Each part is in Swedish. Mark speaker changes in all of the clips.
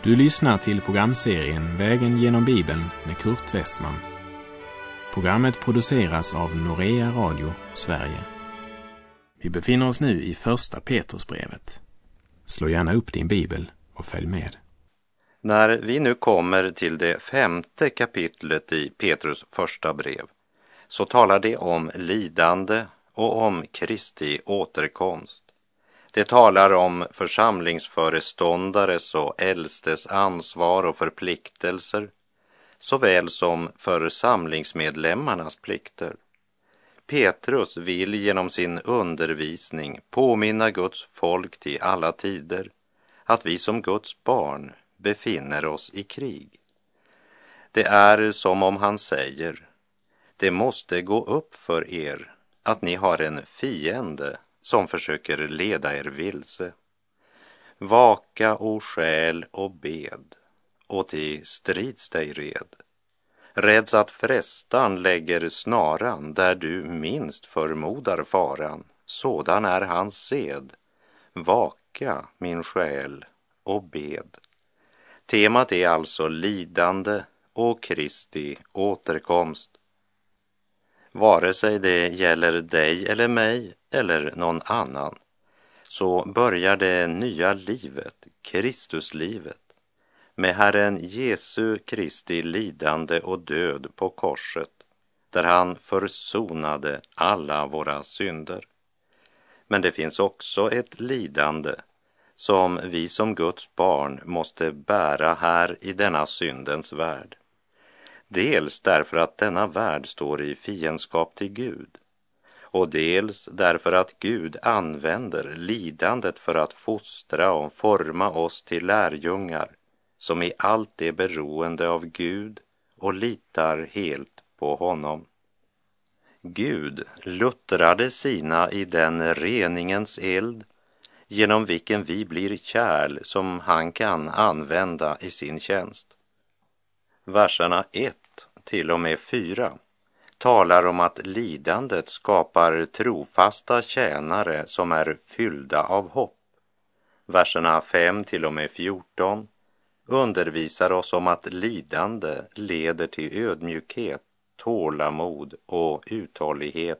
Speaker 1: Du lyssnar till programserien Vägen genom Bibeln med Kurt Westman. Programmet produceras av Norea Radio, Sverige. Vi befinner oss nu i första Petrusbrevet. Slå gärna upp din bibel och följ med.
Speaker 2: När vi nu kommer till det 5:e kapitlet i Petrus första brev så talar det om lidande och om Kristi återkomst. Det talar om församlingsföreståndares och äldstes ansvar och förpliktelser, såväl som församlingsmedlemmarnas plikter. Petrus vill genom sin undervisning påminna Guds folk till alla tider att vi som Guds barn befinner oss i krig. Det är som om han säger: det måste gå upp för er att ni har en fiende som försöker leda er vilse. Vaka och skäl och bed, och till strids dig red. Räds att frestan lägger snaran där du minst förmodar faran. Sådan är hans sed. Vaka, min själ, och bed. Temat är alltså lidande och Kristi återkomst. Vare sig det gäller dig eller mig eller någon annan, så börjar det nya livet, Kristuslivet, med Herren Jesu Kristi lidande och död på korset, där han försonade alla våra synder. Men det finns också ett lidande som vi som Guds barn måste bära här i denna syndens värld. Dels därför att denna värld står i fiendskap till Gud, och dels därför att Gud använder lidandet för att fostra och forma oss till lärjungar som i allt är beroende av Gud och litar helt på honom. Gud luttrade sina i den reningens eld genom vilken vi blir kärl som han kan använda i sin tjänst. Verserna 1 till och med 4 talar om att lidandet skapar trofasta tjänare som är fyllda av hopp. Verserna 5 till och med 14 undervisar oss om att lidande leder till ödmjukhet, tålamod och uthållighet.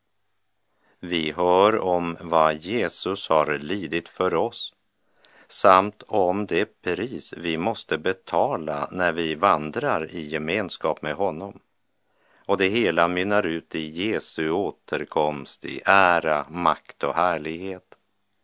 Speaker 2: Vi hör om vad Jesus har lidit för oss, samt om det pris vi måste betala när vi vandrar i gemenskap med honom. Och det hela mynnar ut i Jesu återkomst i ära, makt och härlighet.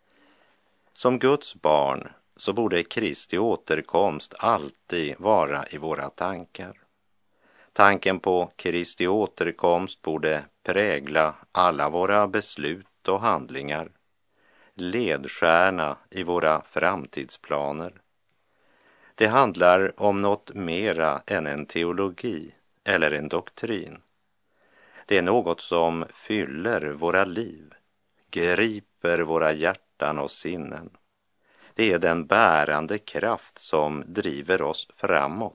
Speaker 2: Som Guds barn så borde Kristi återkomst alltid vara i våra tankar. Tanken på Kristi återkomst borde prägla alla våra beslut och handlingar, ledstjärna i våra framtidsplaner. Det handlar om något mera än en teologi eller en doktrin. Det är något som fyller våra liv, griper våra hjärtan och sinnen. Det är den bärande kraft som driver oss framåt.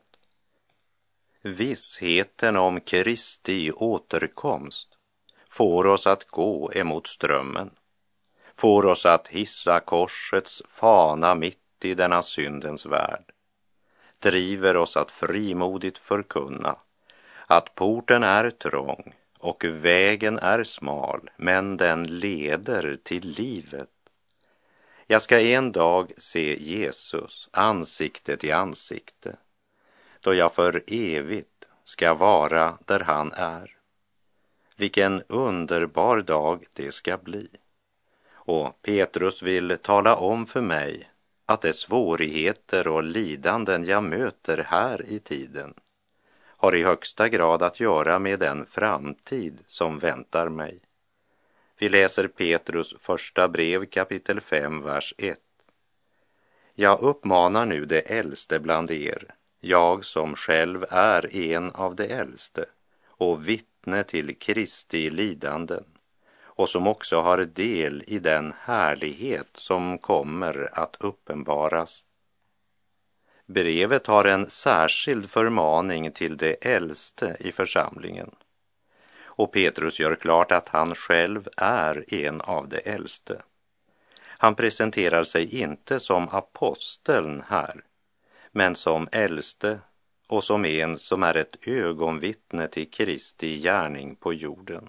Speaker 2: Vissheten om Kristi återkomst får oss att gå emot strömmen, får oss att hissa korsets fana mitt i denna syndens värld, driver oss att frimodigt förkunna att porten är trång och vägen är smal, men den leder till livet. Jag ska en dag se Jesus ansikte till ansikte, då jag för evigt ska vara där han är. Vilken underbar dag det ska bli. Och Petrus vill tala om för mig att de svårigheter och lidanden jag möter här i tiden har i högsta grad att göra med den framtid som väntar mig. Vi läser Petrus första brev kapitel 5, vers 1. Jag uppmanar nu de äldste bland er, jag som själv är en av de äldste och vittne till Kristi lidanden, och som också har del i den härlighet som kommer att uppenbaras. Brevet har en särskild förmaning till de äldste i församlingen. Och Petrus gör klart att han själv är en av de äldste. Han presenterar sig inte som aposteln här, men som äldste och som en som är ett ögonvittne till Kristi gärning på jorden.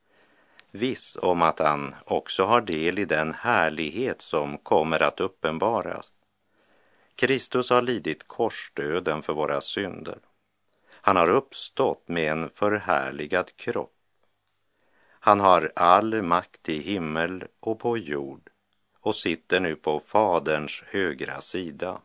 Speaker 2: Viss om att han också har del i den härlighet som kommer att uppenbaras. Kristus har lidit korsdöden för våra synder. Han har uppstått med en förhärligad kropp. Han har all makt i himmel och på jord och sitter nu på Faderns högra sida.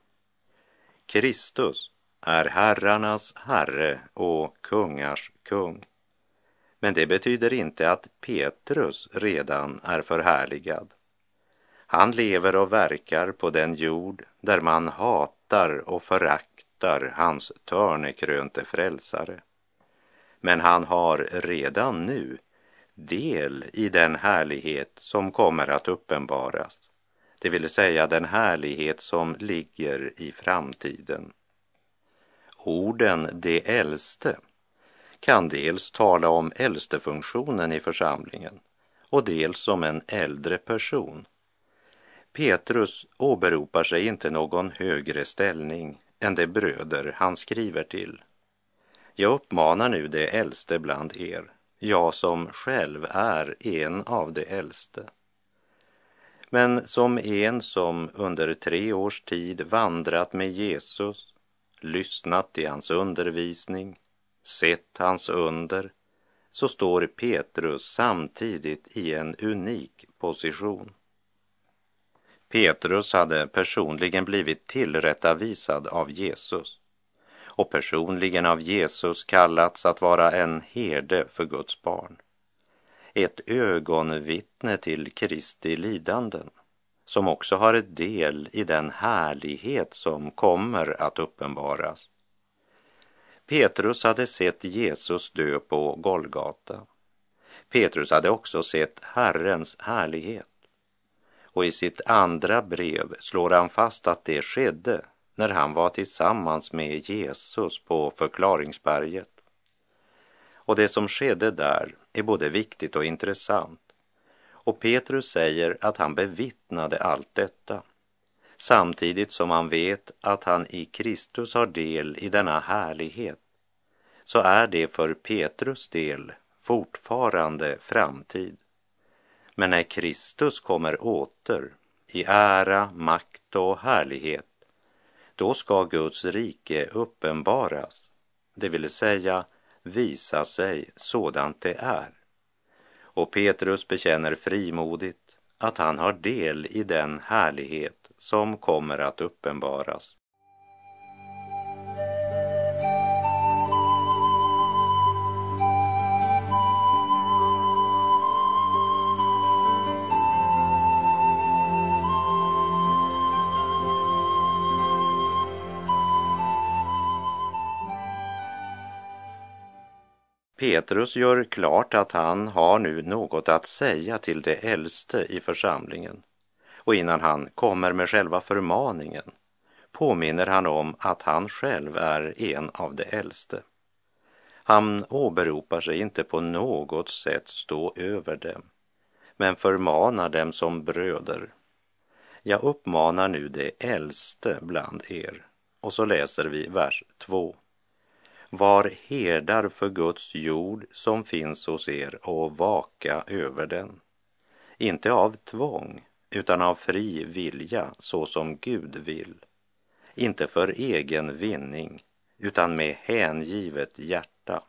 Speaker 2: Kristus är herrarnas herre och kungars kung. Men det betyder inte att Petrus redan är förhärligad. Han lever och verkar på den jord där man hatar och föraktar hans törnekrönte frälsare. Men han har redan nu del i den härlighet som kommer att uppenbaras, det vill säga den härlighet som ligger i framtiden. Orden "det äldste" kan dels tala om äldstefunktionen i församlingen och dels om en äldre person. Petrus åberopar sig inte någon högre ställning än de bröder han skriver till. Jag uppmanar nu det äldste bland er, jag som själv är en av de äldste. Men som en som under 3 års tid vandrat med Jesus, lyssnat till hans undervisning, sett hans under, så står Petrus samtidigt i en unik position. Petrus hade personligen blivit tillrättavisad av Jesus och personligen av Jesus kallats att vara en herde för Guds barn. Ett ögonvittne till Kristi lidanden som också har ett del i den härlighet som kommer att uppenbaras. Petrus hade sett Jesus dö på Golgata. Petrus hade också sett Herrens härlighet. Och i sitt andra brev slår han fast att det skedde när han var tillsammans med Jesus på förklaringsberget. Och det som skedde där är både viktigt och intressant. Och Petrus säger att han bevittnade allt detta, samtidigt som han vet att han i Kristus har del i denna härlighet. Så är det för Petrus del fortfarande framtid. Men när Kristus kommer åter i ära, makt och härlighet, då ska Guds rike uppenbaras, det vill säga visa sig sådant det är. Och Petrus bekänner frimodigt att han har del i den härlighet som kommer att uppenbaras. Petrus gör klart att han har nu något att säga till det äldste i församlingen. Och innan han kommer med själva förmaningen påminner han om att han själv är en av de äldste. Han åberopar sig inte på något sätt stå över dem, men förmanar dem som bröder. Jag uppmanar nu det äldste bland er. Och så läser vi vers 2. Var herdar för Guds jord som finns hos er och vaka över den. Inte av tvång, utan av fri vilja, så som Gud vill. Inte för egen vinning, utan med hängivet hjärta.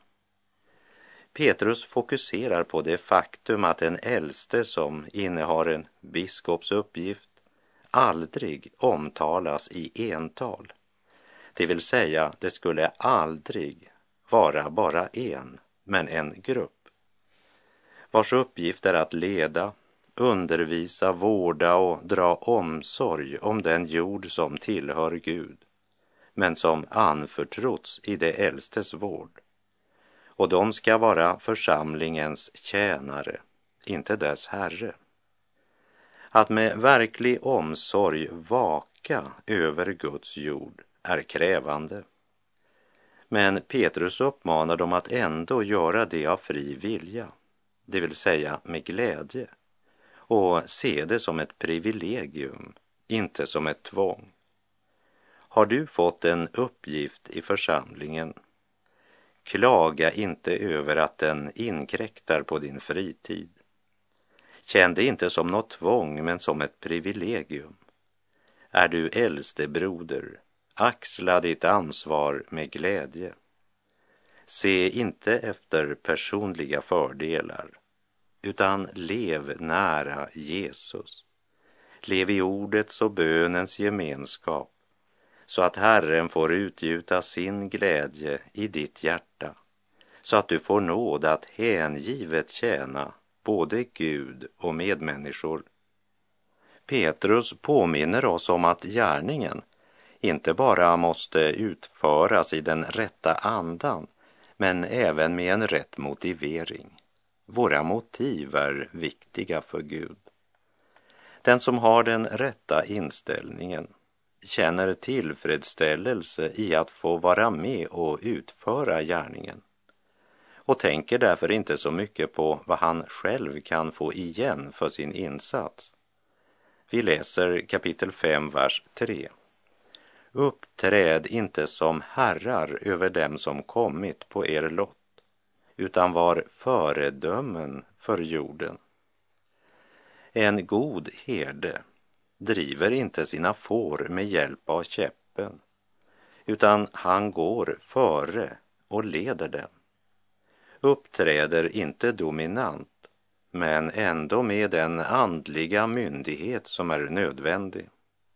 Speaker 2: Petrus fokuserar på det faktum att en äldste som innehar en biskops uppgift aldrig omtalas i ental. Det vill säga, det skulle aldrig vara bara en, men en grupp, vars uppgift är att leda, undervisa, vårda och dra omsorg om den jord som tillhör Gud, men som anförtrotts i det äldstes vård. Och de ska vara församlingens tjänare, inte dess herre. Att med verklig omsorg vaka över Guds jord är krävande. Men Petrus uppmanar dem att ändå göra det av fri vilja, det vill säga med glädje, och se det som ett privilegium, inte som ett tvång. Har du fått en uppgift i församlingen? Klaga inte över att den inkräktar på din fritid. Känn det inte som något tvång, men som ett privilegium. Är du äldste broder, axla ditt ansvar med glädje. Se inte efter personliga fördelar, utan lev nära Jesus. Lev i ordets och bönens gemenskap, så att Herren får utgjuta sin glädje i ditt hjärta, så att du får nåd att hängivet tjäna både Gud och medmänniskor. Petrus påminner oss om att gärningen inte bara måste utföras i den rätta andan, men även med en rätt motivering. Våra motiv är viktiga för Gud. Den som har den rätta inställningen känner tillfredsställelse i att få vara med och utföra gärningen och tänker därför inte så mycket på vad han själv kan få igen för sin insats. Vi läser kapitel 5, vers 3. Uppträd inte som herrar över dem som kommit på er lott, utan var föredömen för jorden. En god herde driver inte sina får med hjälp av käppen, utan han går före och leder dem. Uppträder inte dominant, men ändå med den andliga myndighet som är nödvändig.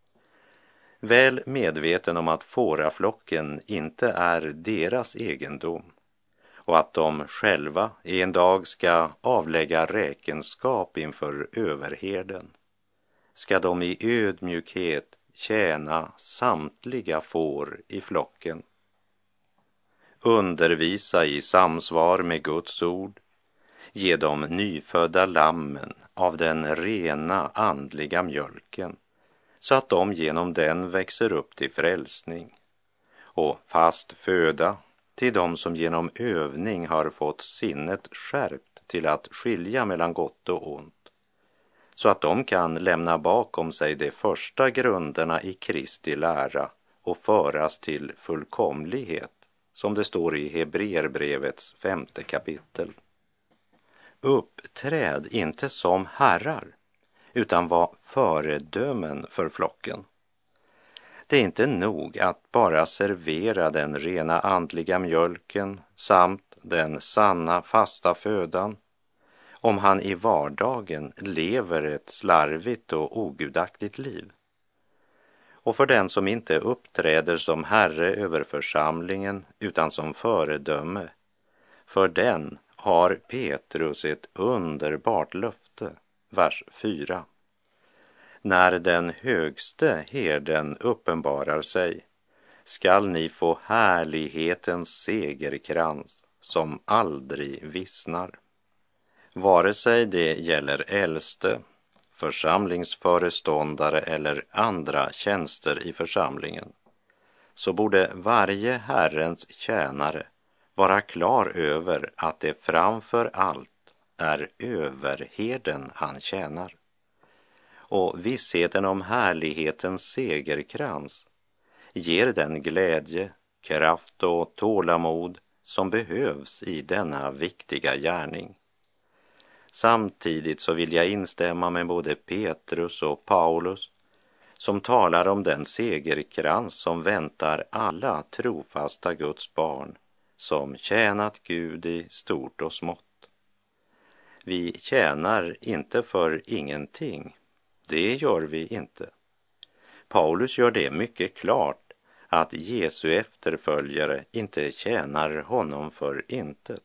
Speaker 2: Väl medveten om att fåraflocken inte är deras egendom och att de själva en dag ska avlägga räkenskap inför överherden, ska de i ödmjukhet tjäna samtliga får i flocken. Undervisa i samsvar med Guds ord, ge de nyfödda lammen av den rena andliga mjölken, så att de genom den växer upp till frälsning, och fast föda till dem som genom övning har fått sinnet skärpt till att skilja mellan gott och ont, så att de kan lämna bakom sig de första grunderna i Kristi lära och föras till fullkomlighet, som det står i Hebreerbrevets 5:e kapitel. Uppträd inte som herrar, utan var föredömen för flocken. Det är inte nog att bara servera den rena andliga mjölken samt den sanna fasta födan, om han i vardagen lever ett slarvigt och ogudaktigt liv. Och för den som inte uppträder som herre över församlingen utan som föredöme, för den har Petrus ett underbart löfte, vers 4. När den högste herden uppenbarar sig, skall ni få härlighetens segerkrans som aldrig vissnar. Vare sig det gäller äldste, församlingsföreståndare eller andra tjänster i församlingen, så borde varje Herrens tjänare vara klar över att det framför allt är överherden han tjänar. Och vissheten om härlighetens segerkrans ger den glädje, kraft och tålamod som behövs i denna viktiga gärning. Samtidigt så vill jag instämma med både Petrus och Paulus som talar om den segerkrans som väntar alla trofasta Guds barn som tjänat Gud i stort och smått. Vi tjänar inte för ingenting, det gör vi inte. Paulus gör det mycket klart att Jesu efterföljare inte tjänar honom för intet.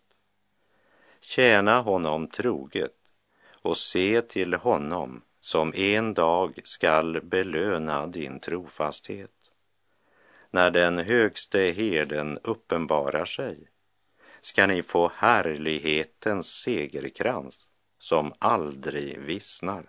Speaker 2: Tjäna honom troget och se till honom som en dag skall belöna din trofasthet. När den högste herden uppenbarar sig ska ni få härlighetens segerkrans som aldrig vissnar.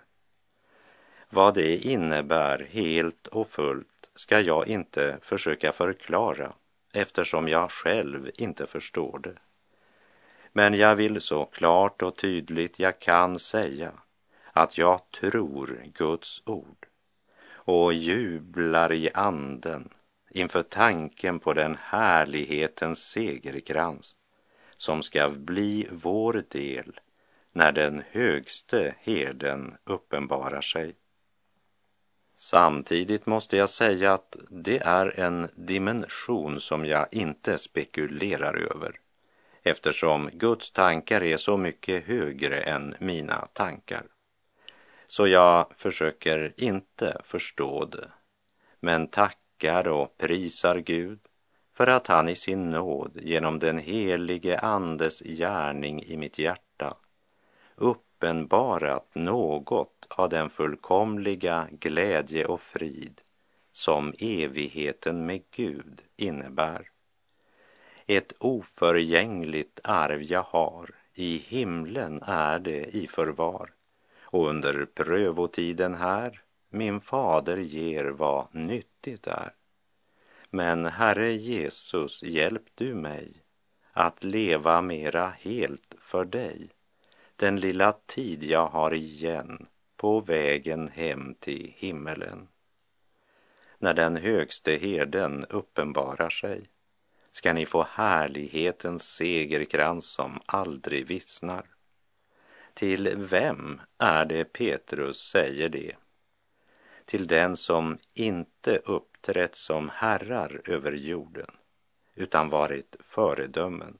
Speaker 2: Vad det innebär helt och fullt ska jag inte försöka förklara, eftersom jag själv inte förstår det. Men jag vill så klart och tydligt jag kan säga att jag tror Guds ord och jublar i anden inför tanken på den härlighetens segerkrans som ska bli vår del när den högste herden uppenbarar sig. Samtidigt måste jag säga att det är en dimension som jag inte spekulerar över, eftersom Guds tankar är så mycket högre än mina tankar. Så jag försöker inte förstå det, men tackar och prisar Gud för att han i sin nåd genom den helige Andes gärning i mitt hjärta uppenbarat något av den fullkomliga glädje och frid som evigheten med Gud innebär. Ett oförgängligt arv jag har, i himlen är det i förvar, och under prövotiden här min fader ger vad nyttigt är. Men Herre Jesus, hjälp du mig att leva mera helt för dig den lilla tid jag har igen på vägen hem till himmelen. När den högste herden uppenbarar sig ska ni få härlighetens segerkrans som aldrig vissnar. Till vem är det Petrus säger det? Till den som inte uppträtt som herrar över jorden, utan varit föredömen.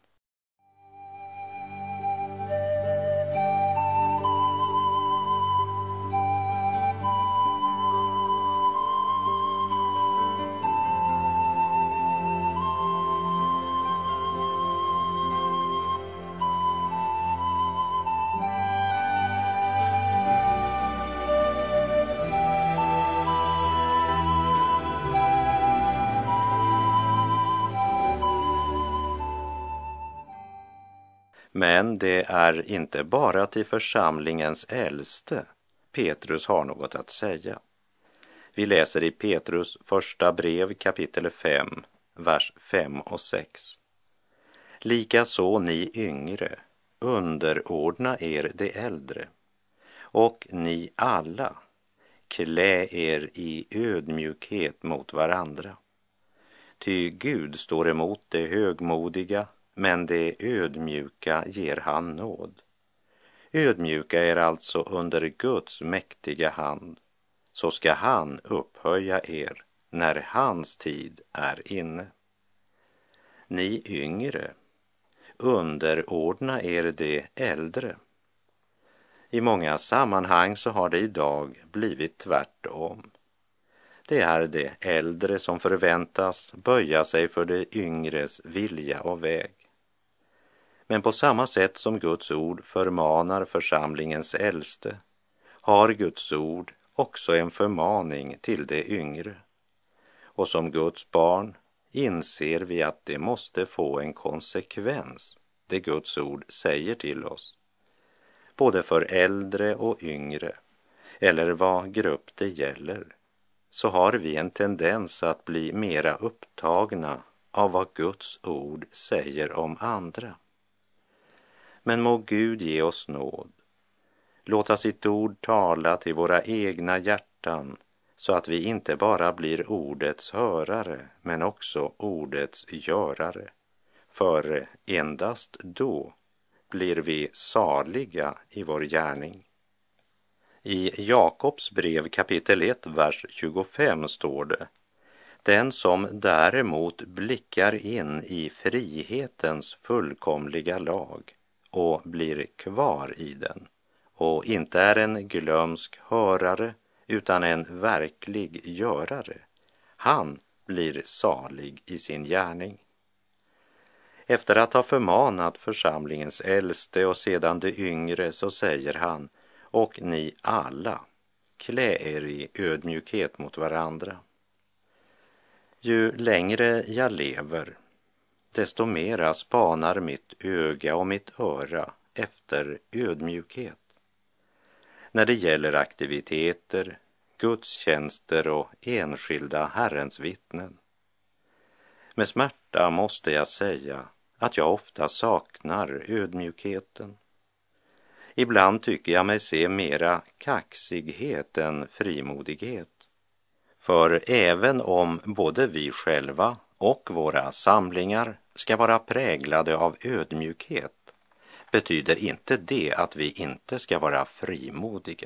Speaker 2: Men det är inte bara till församlingens äldste Petrus har något att säga. Vi läser i Petrus första brev kapitel 5, vers 5 och 6. Likaså ni yngre, underordna er de äldre, och ni alla, klä er i ödmjukhet mot varandra. Ty Gud står emot det högmodiga, men det ödmjuka ger han nåd. Ödmjuka er alltså under Guds mäktiga hand, så ska han upphöja er när hans tid är inne. Ni yngre, underordna er de äldre. I många sammanhang så har det idag blivit tvärtom. Det är de äldre som förväntas böja sig för de yngres vilja och väg. Men på samma sätt som Guds ord förmanar församlingens äldste har Guds ord också en förmaning till de yngre. Och som Guds barn inser vi att det måste få en konsekvens, det Guds ord säger till oss. Både för äldre och yngre, eller vad grupp det gäller, så har vi en tendens att bli mera upptagna av vad Guds ord säger om andra. Men må Gud ge oss nåd. Låta sitt ord tala till våra egna hjärtan så att vi inte bara blir ordets hörare men också ordets görare. För endast då blir vi saliga i vår gärning. I Jakobs brev kapitel 1, vers 25 står det: den som däremot blickar in i frihetens fullkomliga lag och blir kvar i den och inte är en glömsk hörare utan en verklig görare, han blir salig i sin gärning. Efter att ha förmanat församlingens äldste och sedan de yngre så säger han: och ni alla, klä er i ödmjukhet mot varandra. Ju längre jag lever, desto mera spanar mitt öga och mitt öra efter ödmjukhet. När det gäller aktiviteter, gudstjänster och enskilda Herrens vittnen. Med smärta måste jag säga att jag ofta saknar ödmjukheten. Ibland tycker jag mig se mera kaxighet än frimodighet. För även om både vi själva och våra samlingar ska vara präglade av ödmjukhet, betyder inte det att vi inte ska vara frimodiga.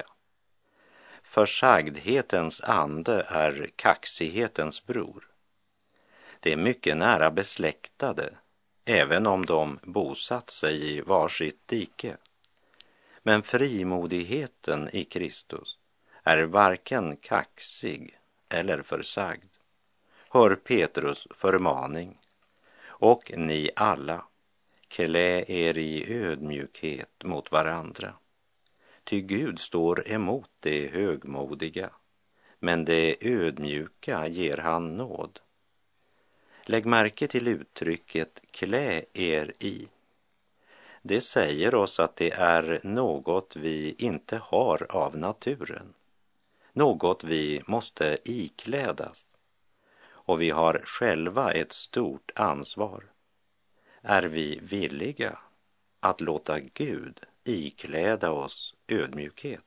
Speaker 2: Försagdhetens ande är kaxighetens bror. Det är mycket nära besläktade, även om de bosatt sig i varsitt dike. Men frimodigheten i Kristus är varken kaxig eller försagd. Hör Petrus förmaning: och ni alla, klä er i ödmjukhet mot varandra. Ty Gud står emot det högmodiga, men det ödmjuka ger han nåd. Lägg märke till uttrycket klä er i. Det säger oss att det är något vi inte har av naturen, något vi måste iklädas. Och vi har själva ett stort ansvar. Är vi villiga att låta Gud ikläda oss ödmjukhet,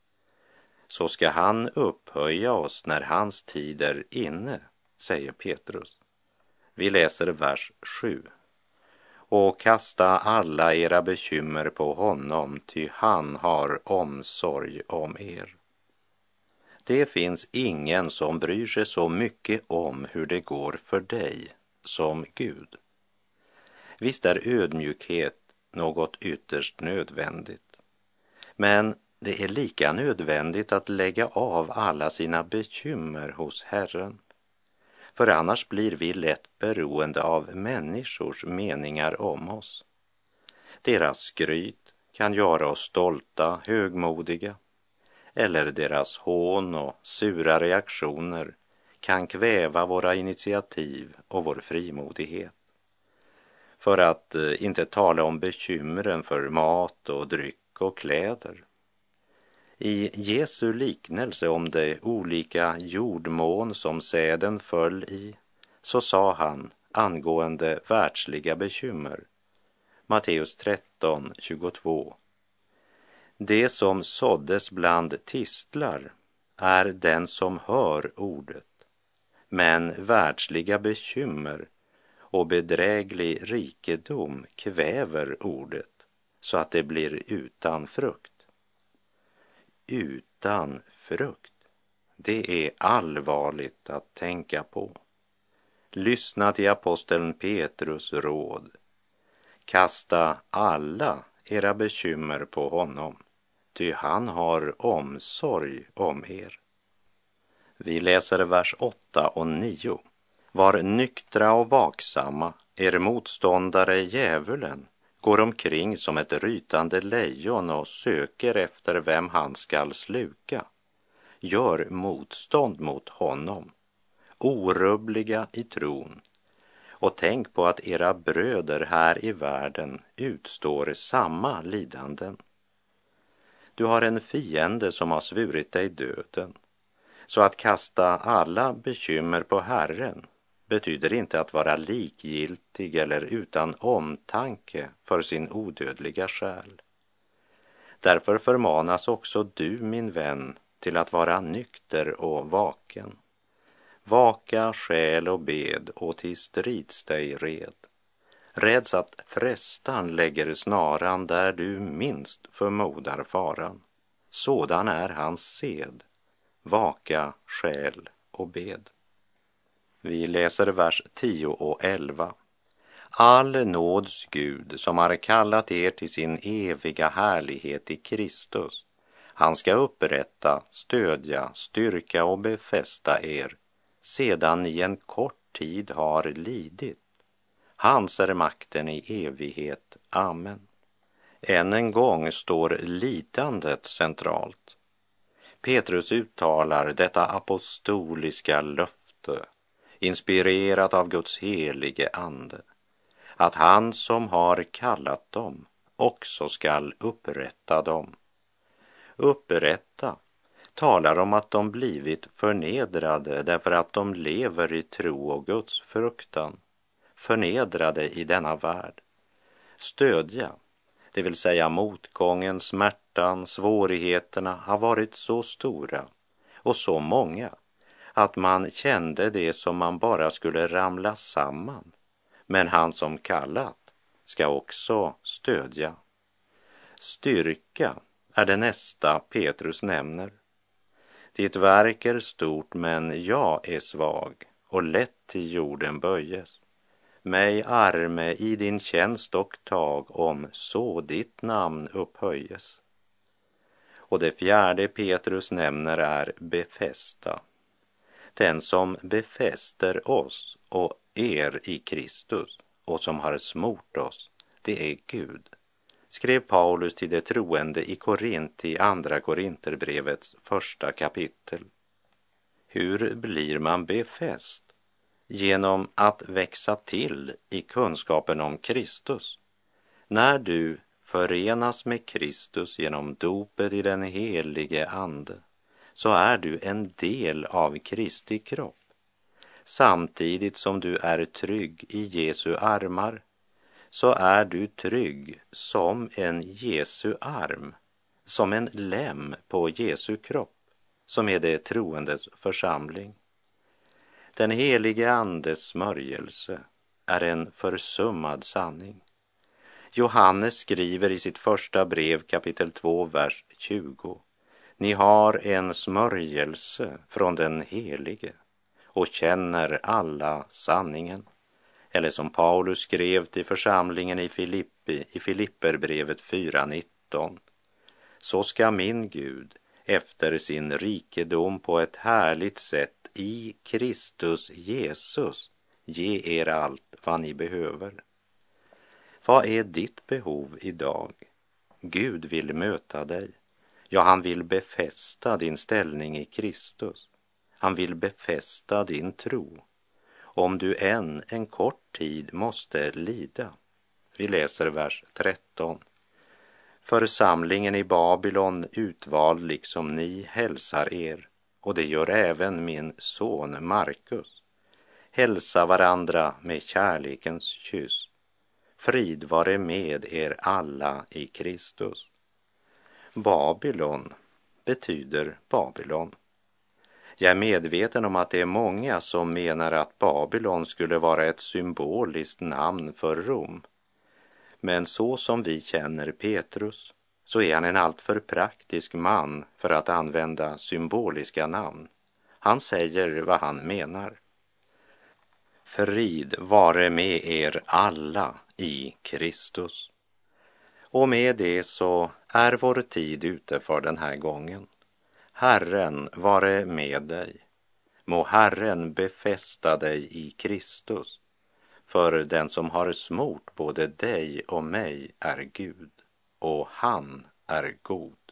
Speaker 2: så ska han upphöja oss när hans tid är inne, säger Petrus. Vi läser vers 7. Och kasta alla era bekymmer på honom, ty han har omsorg om er. Det finns ingen som bryr sig så mycket om hur det går för dig som Gud. Visst är ödmjukhet något ytterst nödvändigt, men det är lika nödvändigt att lägga av alla sina bekymmer hos Herren. För annars blir vi lätt beroende av människors meningar om oss. Deras skryt kan göra oss stolta, högmodiga, eller deras hån och sura reaktioner kan kväva våra initiativ och vår frimodighet. För att inte tala om bekymren för mat och dryck och kläder. I Jesu liknelse om de olika jordmån som säden föll i, så sa han angående världsliga bekymmer. Matteus 13:22. Det som såddes bland tistlar är den som hör ordet, men världsliga bekymmer och bedräglig rikedom kväver ordet så att det blir utan frukt. Utan frukt, det är allvarligt att tänka på. Lyssna till aposteln Petrus råd. Kasta alla era bekymmer på honom, ty han har omsorg om er. Vi läser vers 8 och 9. Var nyktra och vaksamma, er motståndare djävulen går omkring som ett rytande lejon och söker efter vem han skall sluka. Gör motstånd mot honom, orubbliga i tron, och tänk på att era bröder här i världen utstår samma lidanden. Du har en fiende som har svurit dig döden, så att kasta alla bekymmer på Herren betyder inte att vara likgiltig eller utan omtanke för sin odödliga själ. Därför förmanas också du, min vän, till att vara nykter och vaken. Vaka själ och bed och till strids dig red. Räds att frestan lägger snaran där du minst förmodar faran. Sådan är hans sed. Vaka själ och bed. Vi läser vers 10 och 11. All nåds Gud som har kallat er till sin eviga härlighet i Kristus, han ska upprätta, stödja, styrka och befästa er sedan ni en kort tid har lidit. Hans är makten i evighet. Amen. Än en gång står lidandet centralt. Petrus uttalar detta apostoliska löfte, inspirerat av Guds helige ande, att han som har kallat dem också skall upprätta dem. Upprätta talar om att de blivit förnedrade därför att de lever i tro och Guds fruktan, förnedrade i denna värld. Stödja, det vill säga motgången, smärtan, svårigheterna har varit så stora och så många att man kände det som man bara skulle ramla samman. Men han som kallat ska också stödja. Styrka är det nästa Petrus nämner. Ditt verk är stort, men jag är svag och lätt till jorden böjes. Mig arme i din tjänst och tag, om så ditt namn upphöjes. Och det fjärde Petrus nämner är befästa. Den som befäster oss och er i Kristus och som har smort oss, det är Gud, skrev Paulus till de troende i Korint i andra Korinterbrevets 1 kapitel. Hur blir man befäst? Genom att växa till i kunskapen om Kristus. När du förenas med Kristus genom dopet i den helige ande, så är du en del av Kristi kropp. Samtidigt som du är trygg i Jesu armar, så är du trygg som en Jesu arm, som en lem på Jesu kropp, som är det troendes församling. Den helige andes smörjelse är en försummad sanning. Johannes skriver i sitt första brev kapitel 2, vers 20. Ni har en smörjelse från den helige och känner alla sanningen. Eller som Paulus skrev till församlingen i Filippi i Filipperbrevet 4:19. Så ska min Gud efter sin rikedom på ett härligt sätt i Kristus Jesus ge er allt vad ni behöver. Vad är ditt behov idag? Gud vill möta dig. Ja, han vill befästa din ställning i Kristus. Han vill befästa din tro. Om du än en kort tid måste lida. Vi läser vers 13. Församlingen i Babylon, utvald liksom ni, hälsar er, och det gör även min son Markus. Hälsa varandra med kärlekens kyss. Frid vare med er alla i Kristus. Babylon betyder Babylon. Jag är medveten om att det är många som menar att Babylon skulle vara ett symboliskt namn för Rom. Men så som vi känner Petrus, så är han en alltför praktisk man för att använda symboliska namn. Han säger vad han menar. Frid vare med er alla i Kristus. Och med det så är vår tid ute för den här gången. Herren vare med dig. Må Herren befästa dig i Kristus. För den som har smort både dig och mig är Gud, och han är god.